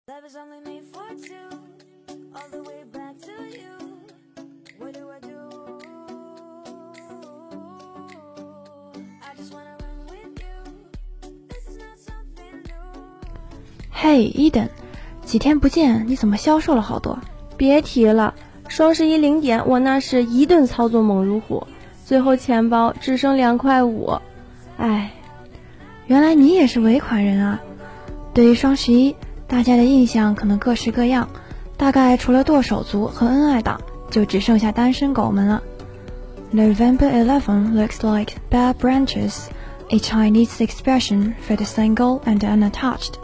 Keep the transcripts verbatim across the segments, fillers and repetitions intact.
Love is only made for two, all the way back to you. What do I do? I just wanna run with you. This is not something new. 嘿，伊登，几天不见，你怎么消瘦了好多？ 别提了，双十一零点，我那是一顿操作猛如虎，最后钱包只剩两块五。唉， 原来你也是尾款人啊！对于双十一，大家的印象可能各式各样，大概除了剁手族和恩爱党，就只剩下单身狗们了。November eleventh looks like bare branches, a Chinese expression for the single and unattached.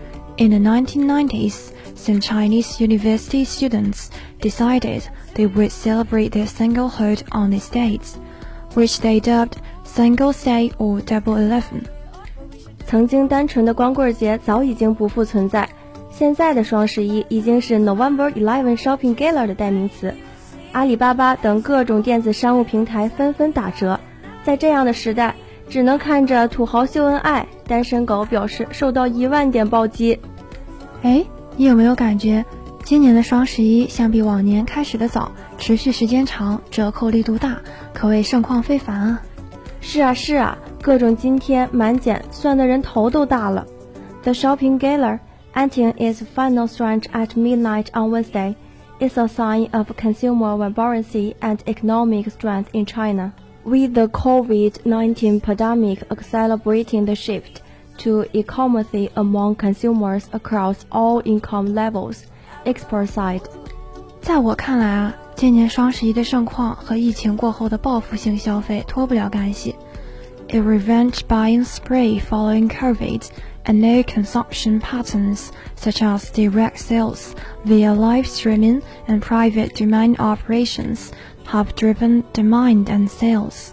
In the nineteen nineties, some Chinese university students decided they would celebrate their singlehood on these dates, which they dubbed Singles Day or Double Eleven. 曾经单纯的光棍节早已经不复存在，现在的双十一已经是 November eleventh Shopping Gala 的代名词。阿里巴巴等各种电子商务平台纷纷打折，在这样的时代，只能看着土豪秀恩爱，单身狗表示受到一万点暴击。 哎，你有没有感觉今年的双十一相比往年开始的早，持续时间长，折扣力度大，可谓盛况非凡啊！ 是啊是啊，各种津贴满减，算的人头都大了。The Shopping Gala, ending its final stretch at midnight on Wednesday, is a sign of consumer vibrancy and economic strength in China, with the COVID nineteen pandemic accelerating the shift to e-commerce among consumers across all income levels, experts said. 在我看来啊，今年双十一的盛况和疫情过后的报复性消费脱不了干系。A revenge buying spree following COVID and new consumption patterns such as direct sales via live streaming and private domain operations have driven demand and sales.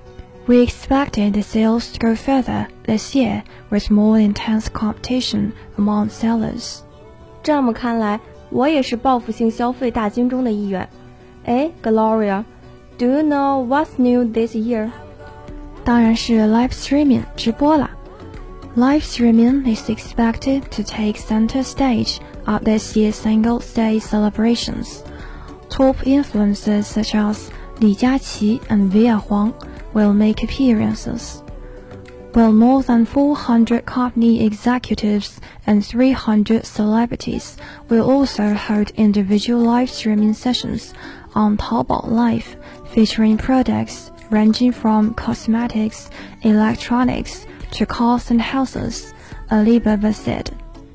We expected the sales to go further this year with more intense competition among sellers. 这么看来，我也是报复性消费大军中的一员。哎 Gloria, do you know what's new this year? 当然是 live streaming 直播啦。Live streaming is expected to take center stage at this year's Singles Day celebrations. Top influencers such as Li Jiaqi and Viya Huang will make appearances, while more than four hundred company executives and three hundred celebrities will also hold individual live streaming sessions on Taobao Live, featuring products ranging from cosmetics, electronics, to cars and houses, Alibaba said.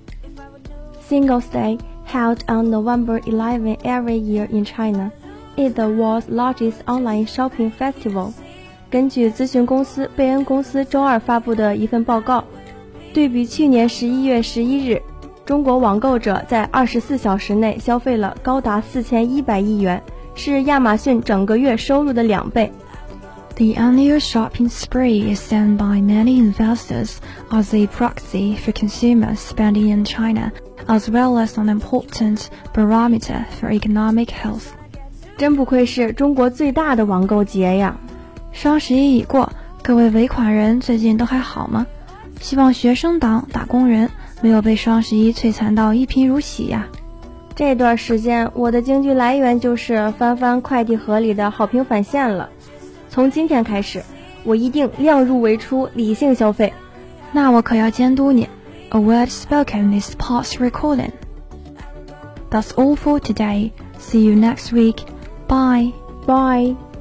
Singles Day, held on November eleventh every year in China, is the world's largest online shopping festival. 根据咨询公司贝恩公司周二发布的一份报告，对比去年十一月十一日，中国网购者在二十四小时内消费了高达四千一百亿元，是亚马逊整个月收入的两倍。 The annual shopping spree is seen by many investors as a proxy for consumer spending in China, as well as an important barometer for economic health. 真不愧是中国最大的网购节呀！ 双十一已过，各位尾款人最近都还好吗？希望学生党、打工人没有被双十一摧残到一贫如洗呀！ 这段时间我的经济来源就是翻翻快递盒里的好评返现了。从今天开始，我一定量入为出，理性消费。 那我可要监督你。A word spoken is past recording. That's all for today. See you next week. Bye. Bye.